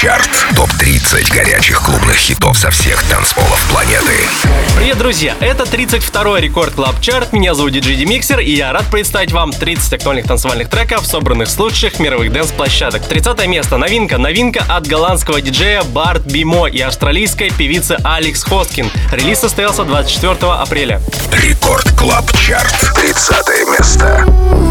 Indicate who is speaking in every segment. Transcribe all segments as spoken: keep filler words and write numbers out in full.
Speaker 1: Чарт. топ тридцать горячих клубных хитов со всех танцполов планеты.
Speaker 2: Привет, друзья! Это тридцать второй Рекорд Клаб Чарт. Меня зовут диджей Демиксер, и я рад представить вам тридцать актуальных танцевальных треков, собранных с лучших мировых дэнс-площадок. тридцатое место. Новинка. Новинка от голландского диджея Барт Бимо и австралийской певицы Алекс Хоскин. Релиз состоялся двадцать четвёртого апреля.
Speaker 1: Рекорд Клаб Чарт. тридцатое место.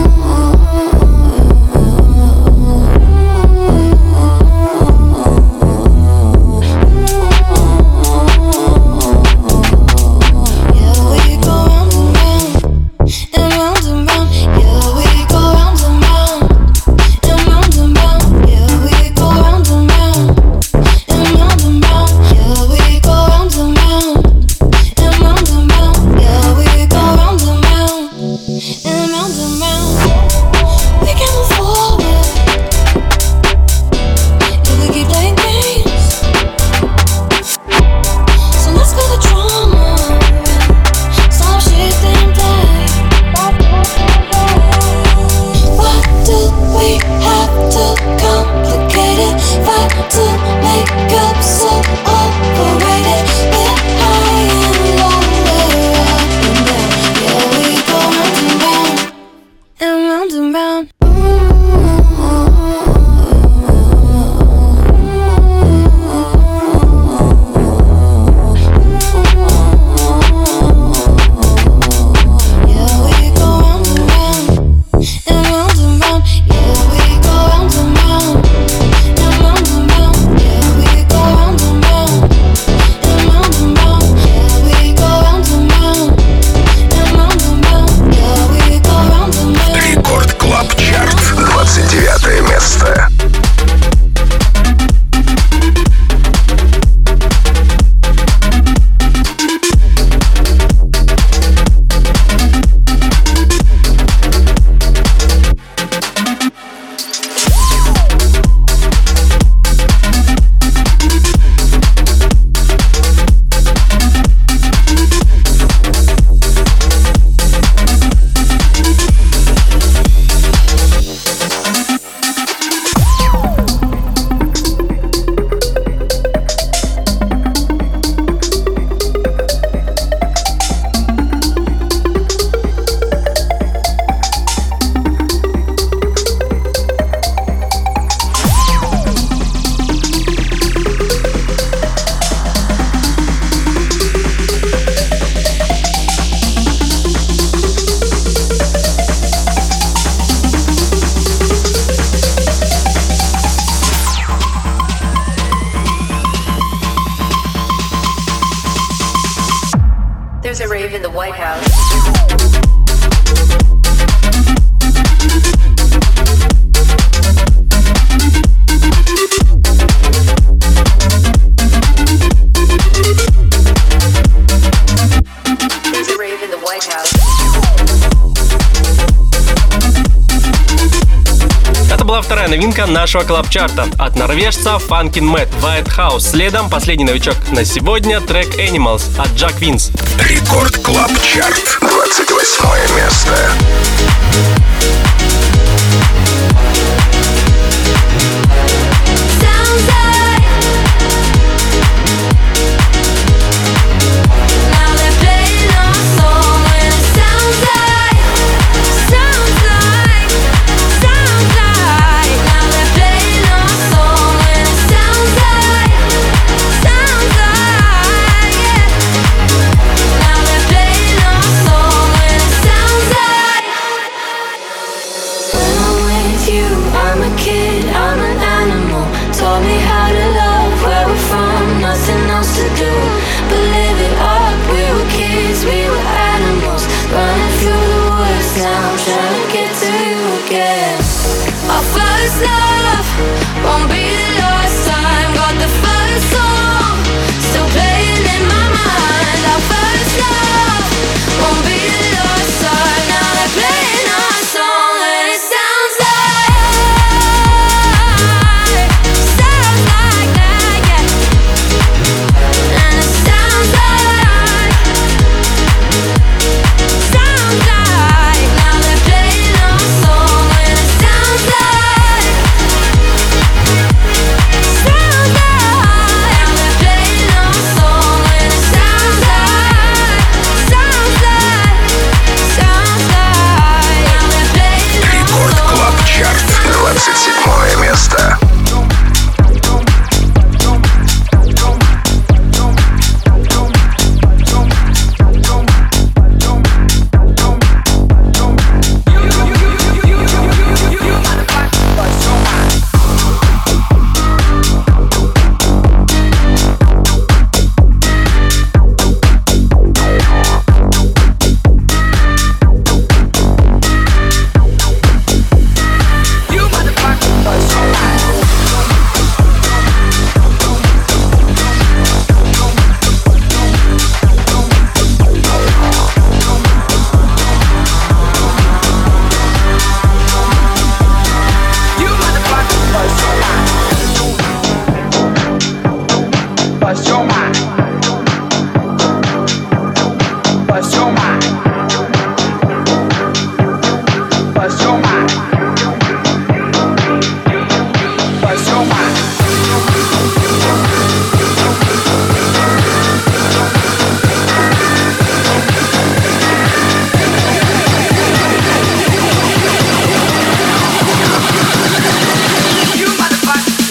Speaker 2: Новинка нашего клаб-чарта от норвежца Funkin' Matt White House. Следом последний новичок на сегодня трек Animals от Jack Vince.
Speaker 1: Рекорд Клаб Чарт. двадцать восьмое место.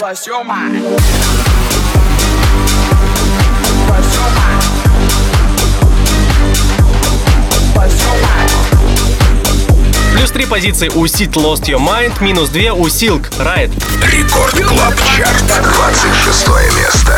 Speaker 3: Plus your mind. Plus your mind. Plus your mind.
Speaker 2: Плюс три позиции у Sid Lost Your Mind, минус две у Silk Ride.
Speaker 1: Рекорд Клаб Чарт, двадцать шестое место.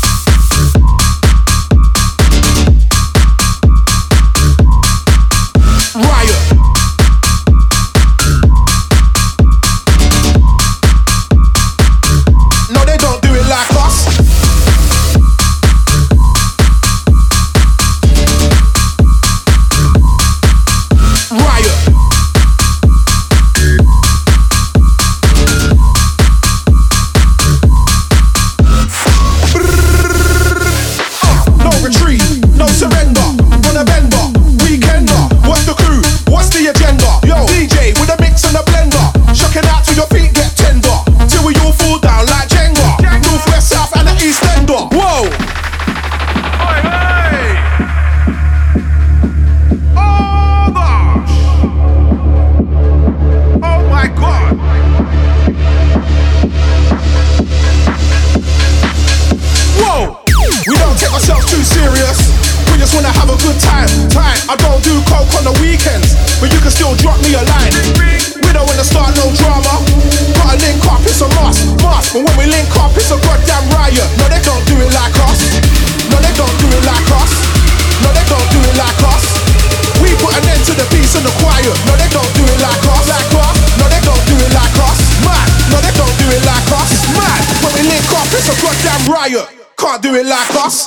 Speaker 4: Can't do it like us.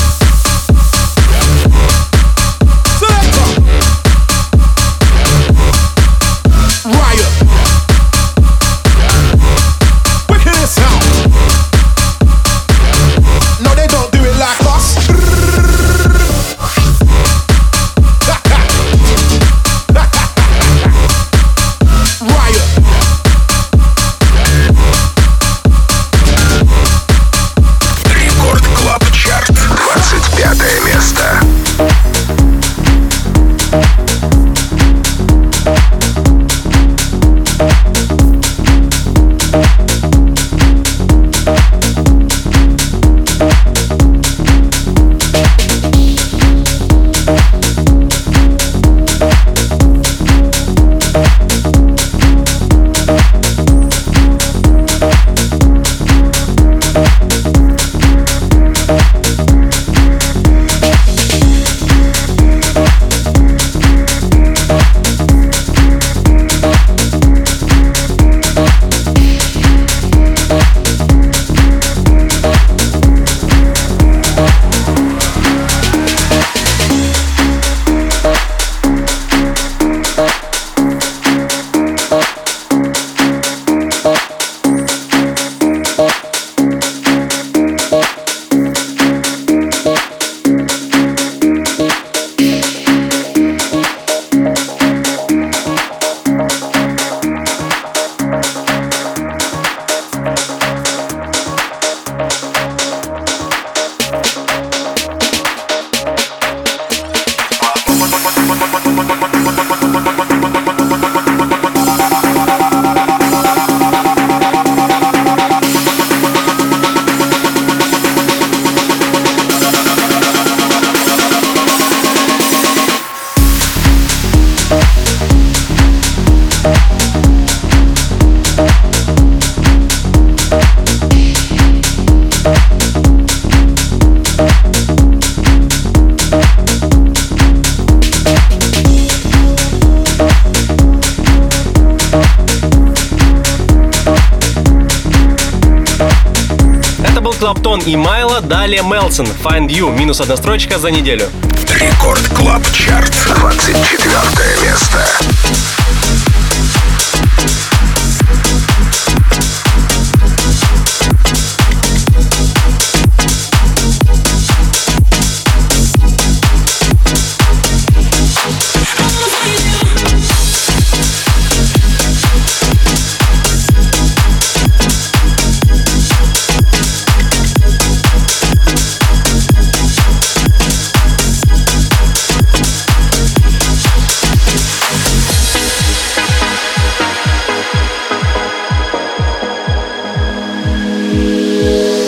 Speaker 2: Клаптон и Майло, далее Мелсон, Find You, минус одна строчка за неделю.
Speaker 1: Рекорд Клаб Чарт, двадцать четвертое место.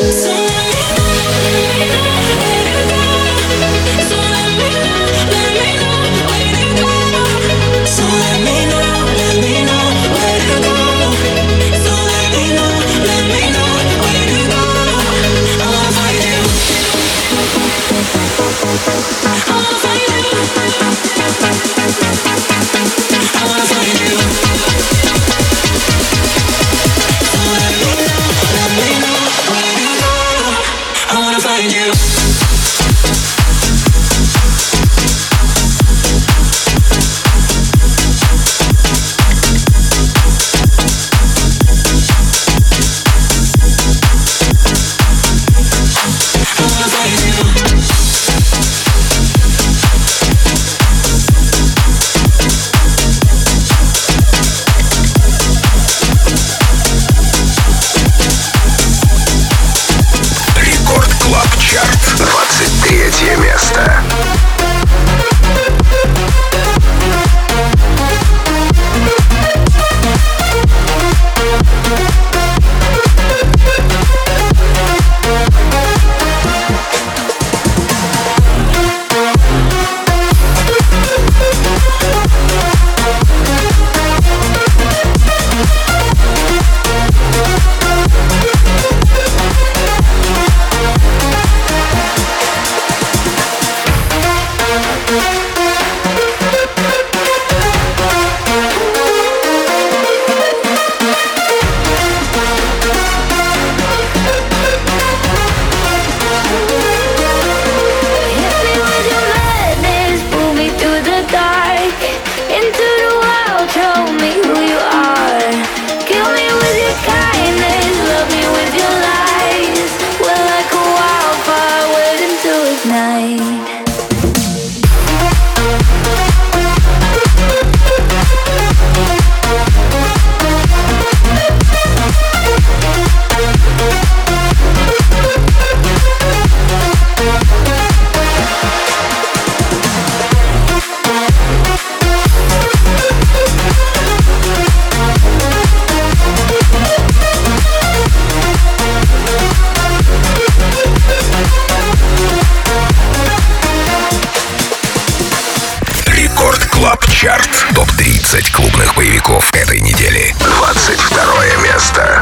Speaker 1: топ тридцать клубных боевиков этой недели. двадцать второе место.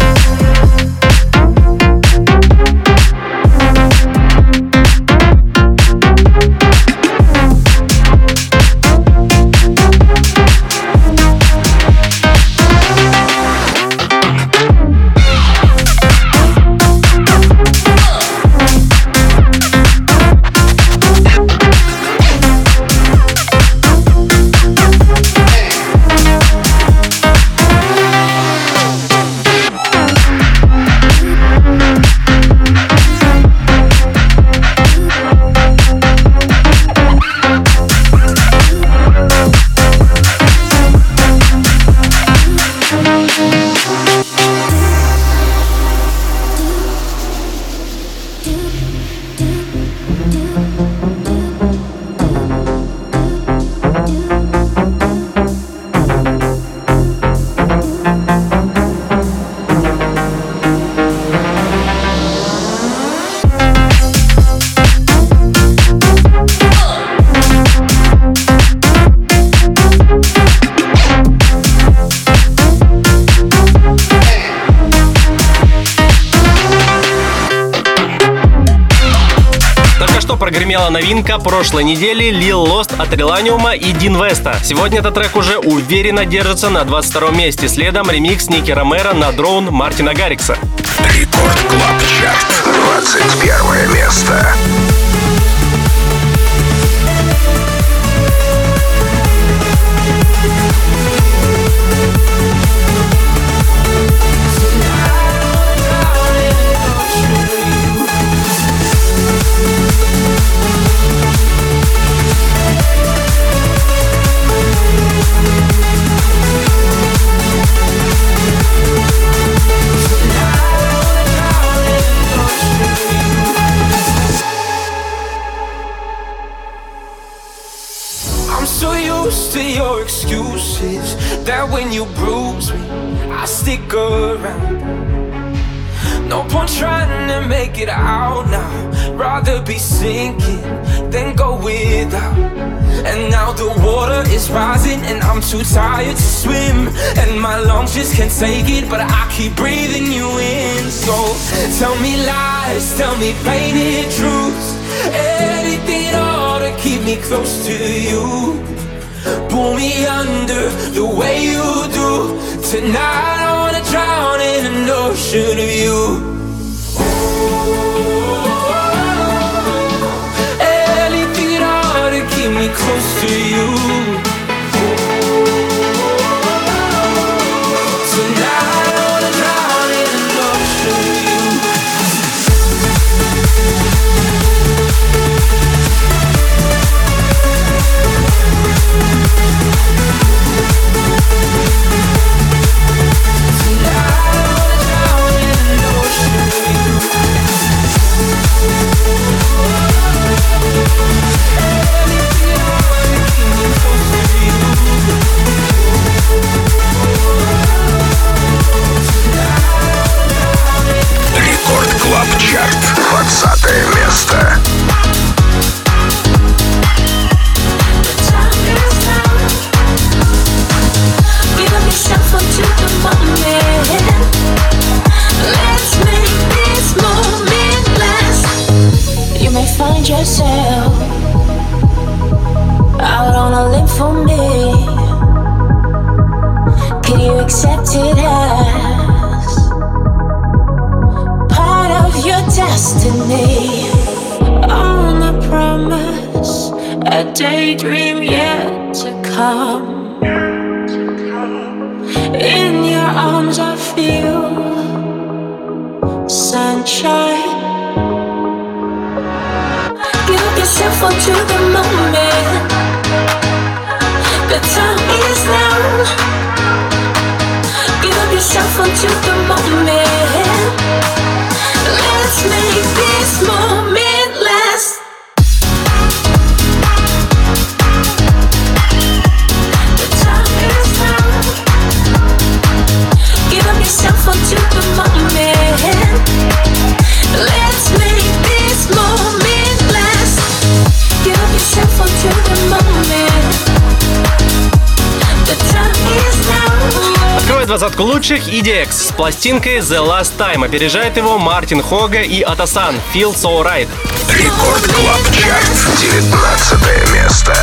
Speaker 2: Прогремела новинка прошлой недели Lil Lost от Relanium и Дин Веста. Сегодня этот трек уже уверенно держится на двадцать втором месте. Следом ремикс Ники Ромеро на Drone Мартина Гаррикса.
Speaker 1: Рекорд Клаб Чарт. двадцать первое место.
Speaker 4: To your excuses, that when you bruise me, I stick around. No point trying to make it out now. Rather be sinking than go without. And now the water is rising and I'm too tired to swim. And my lungs just can't take it, but I keep breathing you in. So tell me lies, tell me painted truths, anything at all to keep me close to you. Pull me under the way you do. Tonight I wanna drown in an ocean of you. Anything at all to keep me close to you. Tonight I wanna drown in an ocean of you.
Speaker 1: Рекорд Клаб Чарт, двадцатое место.
Speaker 5: Find yourself out on a limb for me. Can you accept it as part of your destiny? On a promise, a daydream yet to come. In your arms I feel sunshine. Yourself onto the moment. The time is now. Give up yourself onto the moment. Let's make this moment last. The time is now. Give up yourself onto the moment. Let's make this moment last. Give yourself onto the moment. The time is now.
Speaker 2: Открывает двадцатку лучших и ди экс с пластинкой The Last Time. Опережает его Мартин Хога и Атасан Feel So Right.
Speaker 1: Рекорд Клаб Чарт, девятнадцатое место.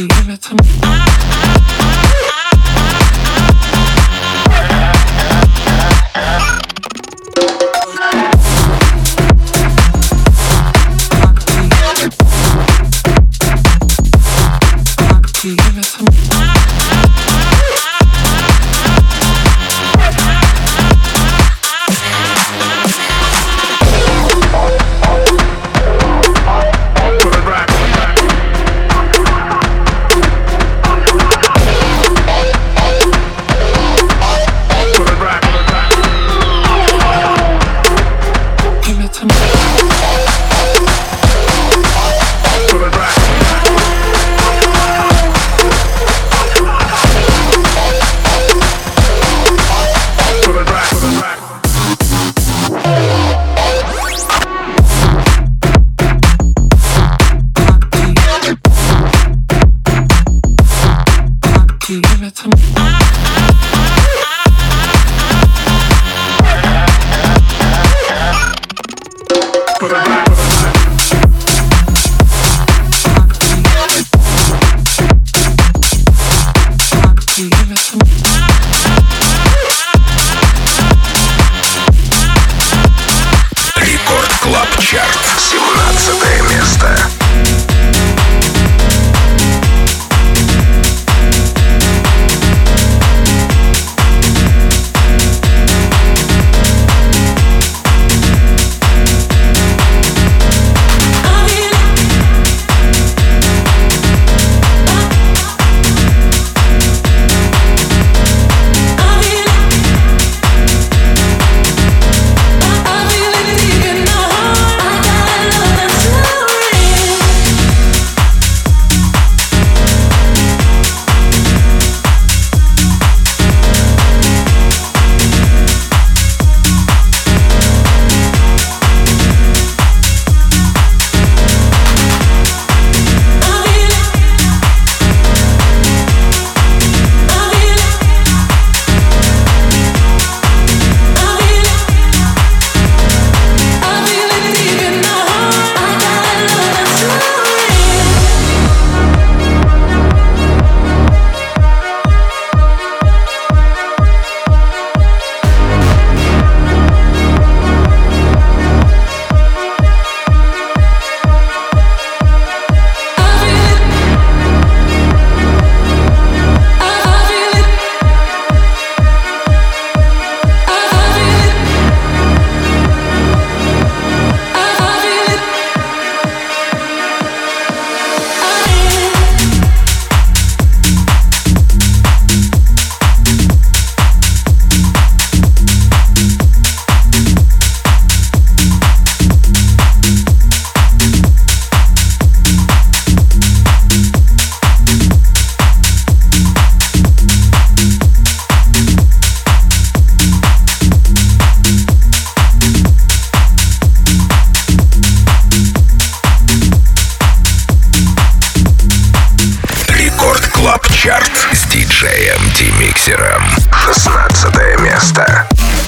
Speaker 1: Миксером. шестнадцатое место.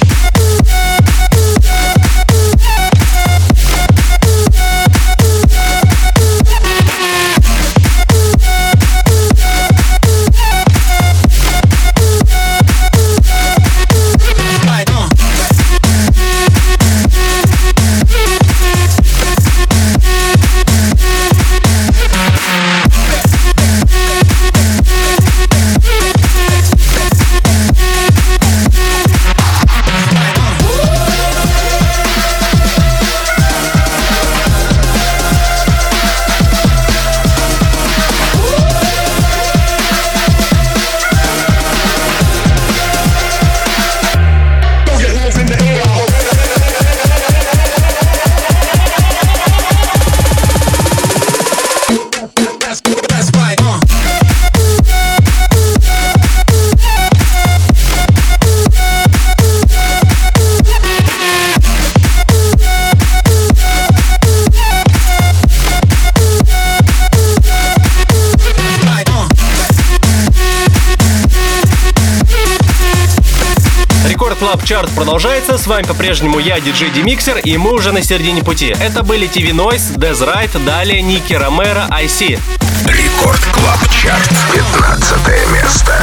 Speaker 2: Чарт продолжается, с вами по-прежнему я, диджей D-Mixer, и мы уже на середине пути. Это были ти ви Noise, Dez Right, далее Ники Ромеро, ай си.
Speaker 1: Рекорд Рекорд Клаб Чарт, пятнадцатое место.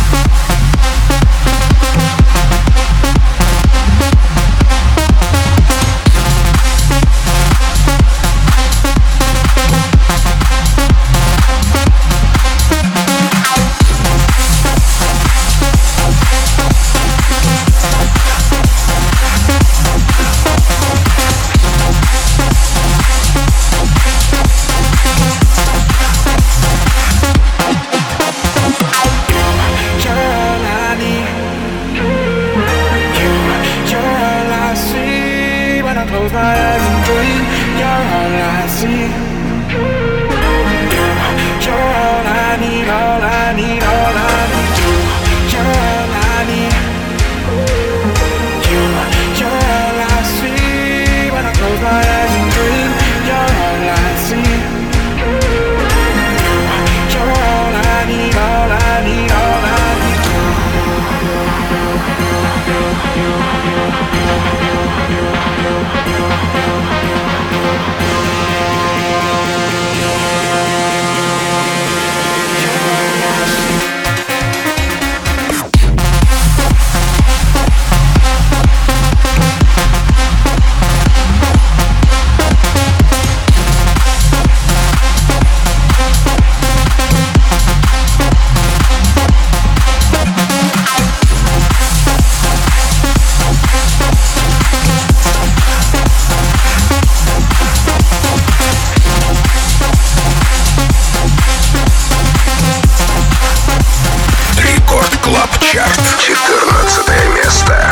Speaker 1: четырнадцатое место.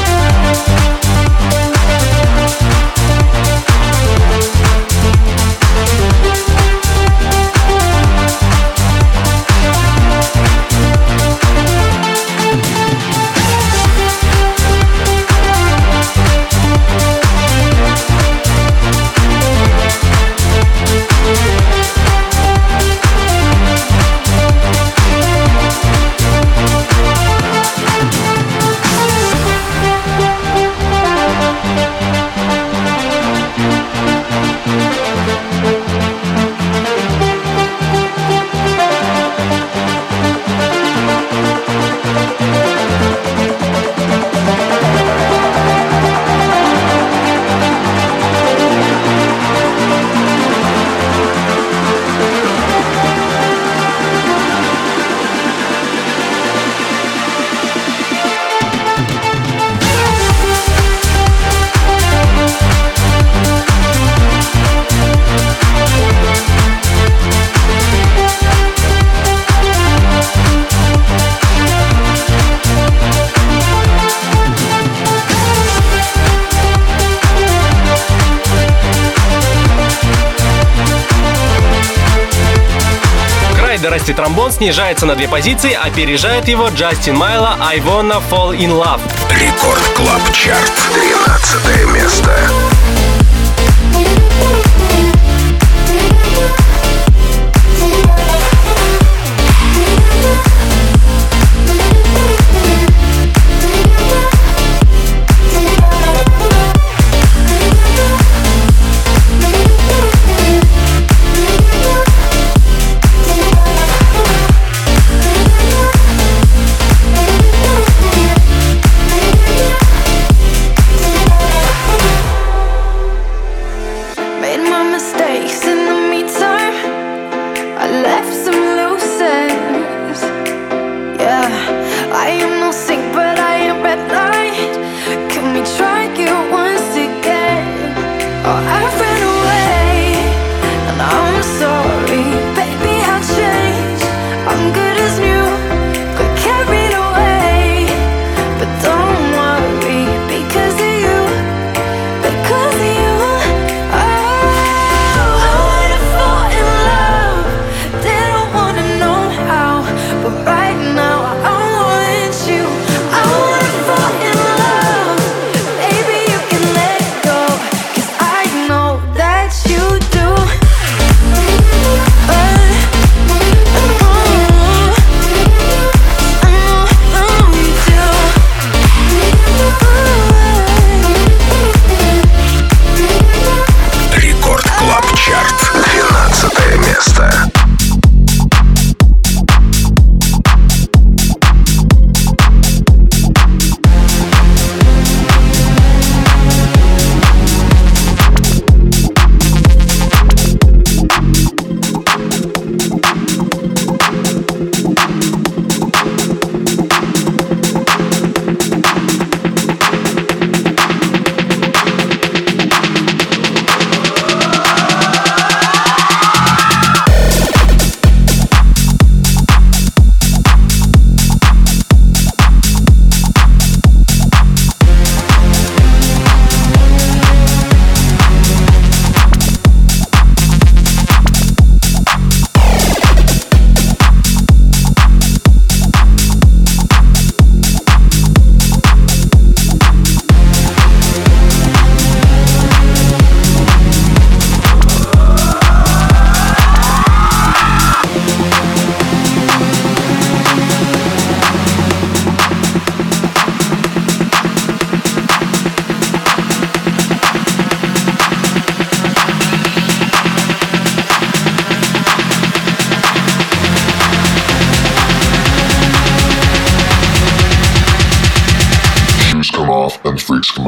Speaker 2: Расти тромбон снижается на две позиции, опережает его Джастин Майло «I Wanna Fall in Love».
Speaker 1: Рекорд Клаб Чарт, тринадцатое место.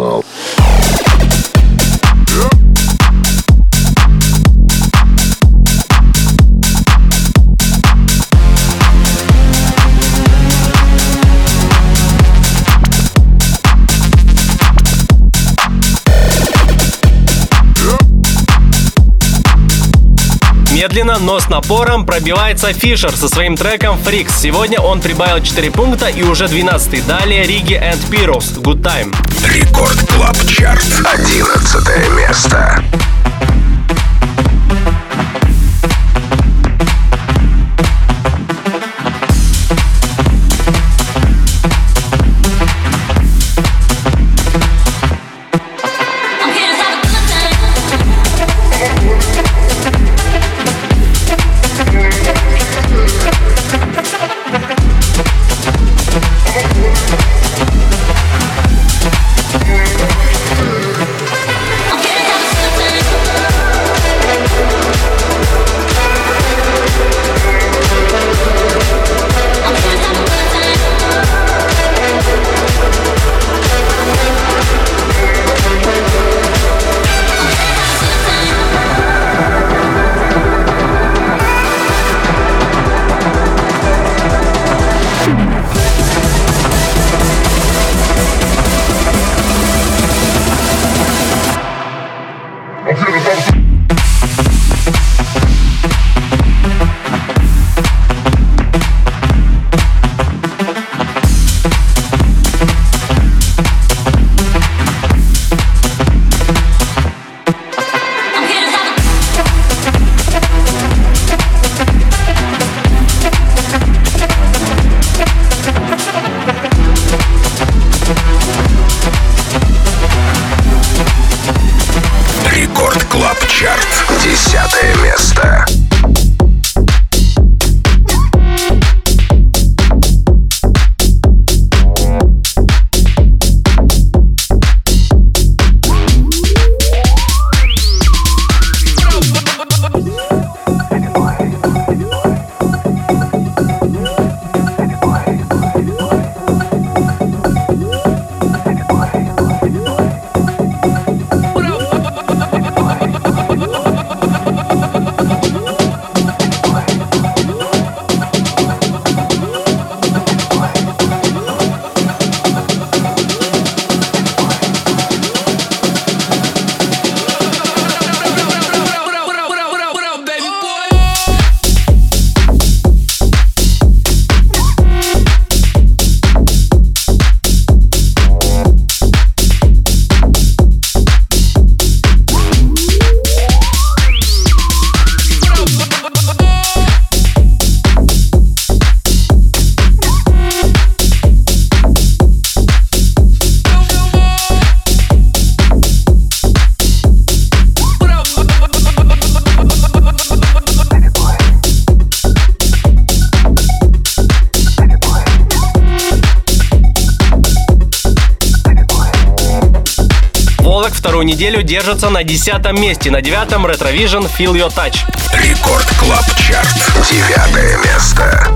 Speaker 1: Club.
Speaker 2: Медленно, но с напором пробивается Фишер со своим треком Freaks. Сегодня он прибавил четыре пункта и уже двенадцатый. Далее Риги and Pyros Good Time.
Speaker 1: Рекорд Клаб Чарт. одиннадцатое место. Десятое место.
Speaker 2: Вторую неделю держится на десятом месте. На девятом Retrovision Feel Your Touch.
Speaker 1: Рекорд Клаб Чарт. Девятое место.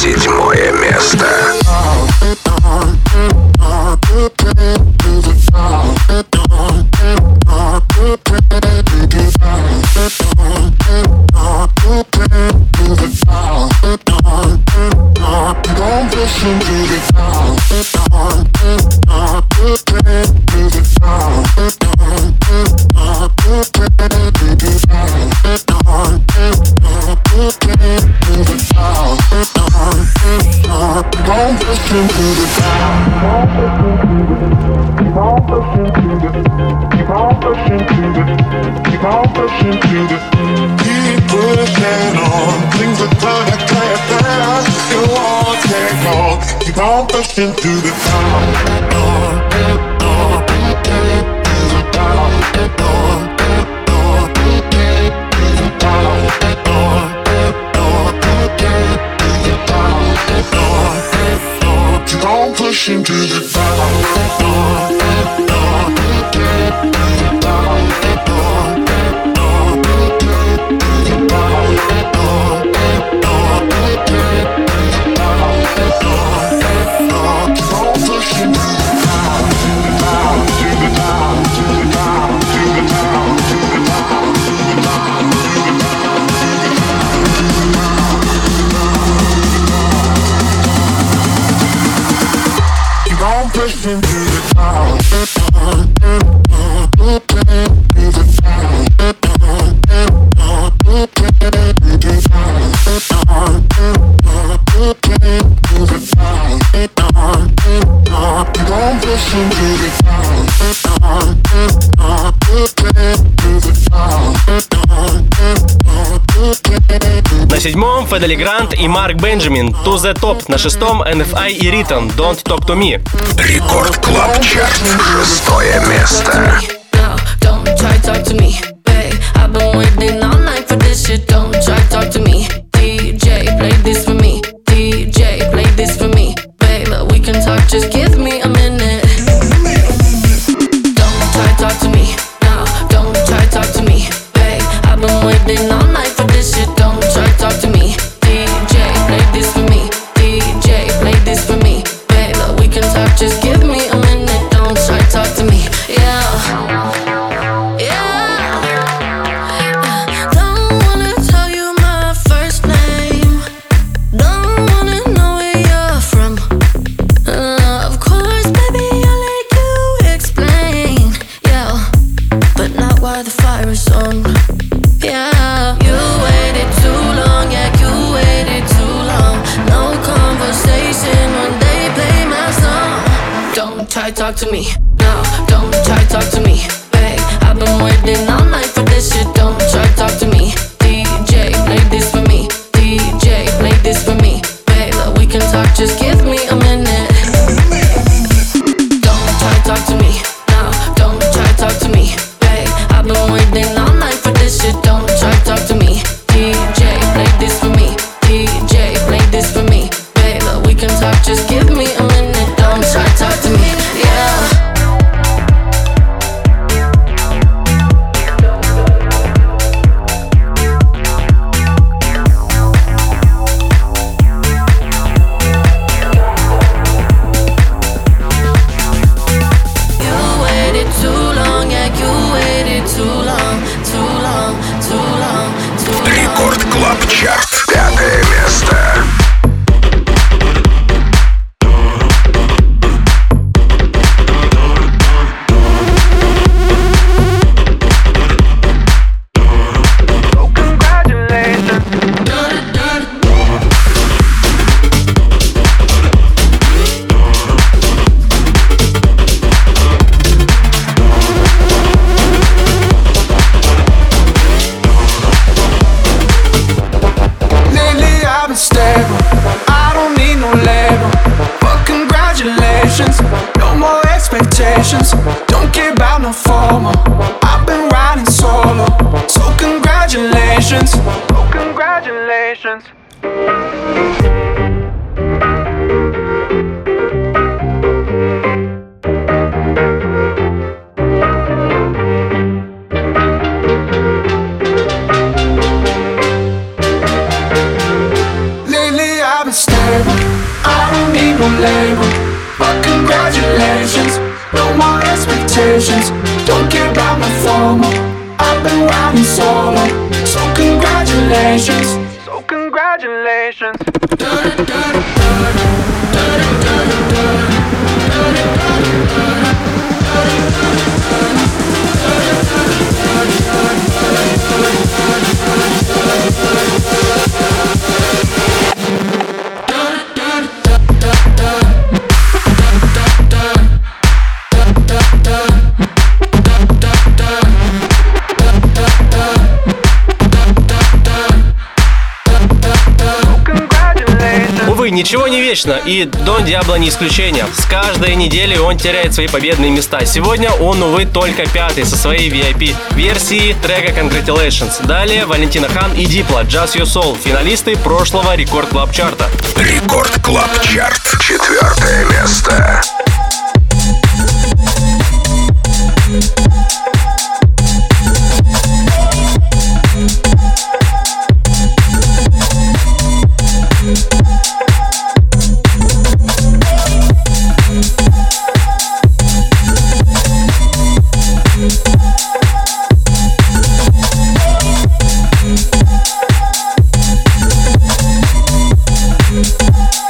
Speaker 1: Седьмое место.
Speaker 2: На седьмом Федели Грант и Марк Бенджамин To The Top. На шестом эн эф ай и Ритон Don't Talk To Me.
Speaker 1: Рекорд Клаб Чарт. Шестое место.
Speaker 5: Don't try to talk to me, babe. I've been waiting all night for this shit. Don't try to talk to me. ди джей, play this for me. ди джей, play this for me. Babe, we can talk, just give me a minute. Don't try to talk to me. No, don't try to talk to me, babe. I've been waiting all night for this shit. Don't try to talk to me. ди джей, play this for me. ди джей, play this for me. Babe, we can talk, just give me a minute. Don't try to talk to me. Yeah. Talk to me, no, don't try to talk to me, babe. I've been waiting all night for this shit. Don't try to talk to me. ди джей, play this for me. ди джей, play this for me, babe. We can talk, just give me a minute. Don't try to talk to me, no, don't try to talk to me, babe. I've been waiting all night for this shit. Don't try to talk to me. ди джей, play this for me. ди джей, play this for me, babe. We can talk, just give me a minute. Don't try to talk to me. Don't care about no formal. I've been riding solo. So congratulations. Oh, congratulations. Lately I've been staring
Speaker 6: table. I don't need no label, but congratulations. No more expectations, don't care about my formal. I've been riding solo, so congratulations. So congratulations.
Speaker 2: Увы, ничего не вечно, и Дон Диабло не исключение. С каждой недели он теряет свои победные места. Сегодня он, увы, только пятый со своей ви ай пи-версии трека Congratulations. Далее Валентина Хан и Дипло, Just Your Soul, финалисты прошлого Рекорд Клаб Чарта.
Speaker 1: Рекорд Клаб Чарт. Четвертое место.
Speaker 6: We'll be right back.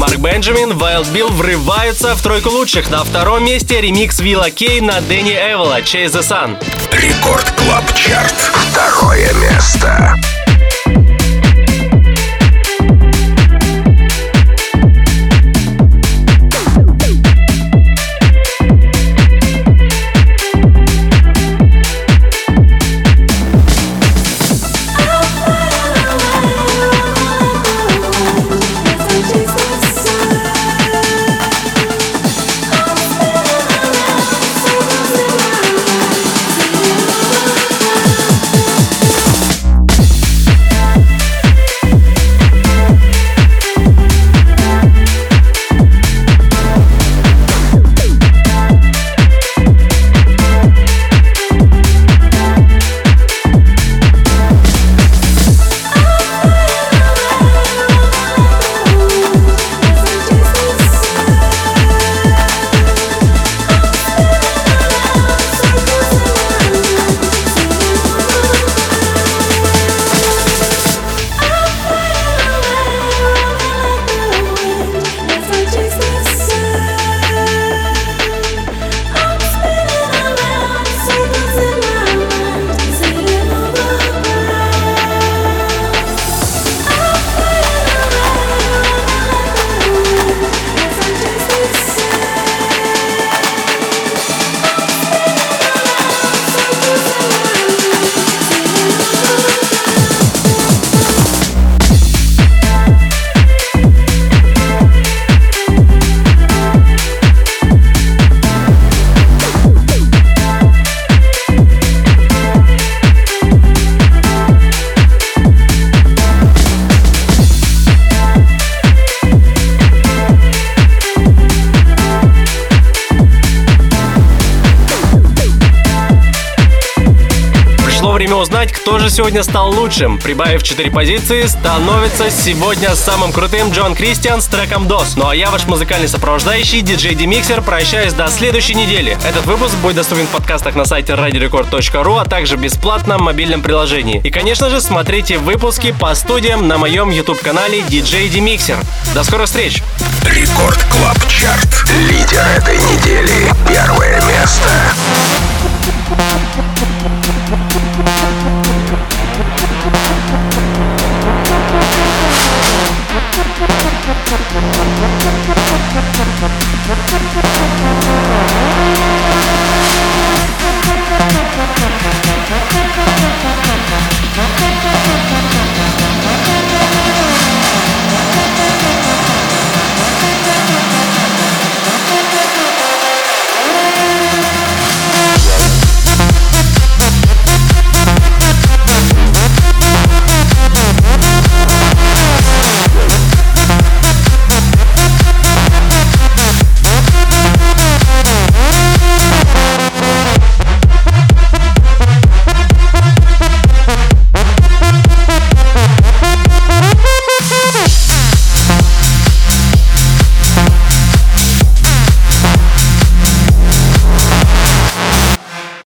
Speaker 2: Марк Бенджамин, Wild Bill врываются в тройку лучших. На втором месте ремикс Вилла Кей на Дэнни Эвола «Chase the Sun».
Speaker 1: Рекорд Клаб Чарт. Второе место.
Speaker 2: Узнать, кто же сегодня стал лучшим. Прибавив четыре позиции, становится сегодня самым крутым Джон Кристиан с треком «Дос». Ну а я, ваш музыкальный сопровождающий, диджей D-Mixer, прощаюсь до следующей недели. Этот выпуск будет доступен в подкастах на сайте радио рекорд точка ру, а также бесплатно в мобильном приложении. И, конечно же, смотрите выпуски по студиям на моем YouTube-канале диджей D-Mixer. До скорых встреч!
Speaker 1: Рекорд Клаб Чарт. Лидер этой недели. Первое место.
Speaker 6: We'll be right back.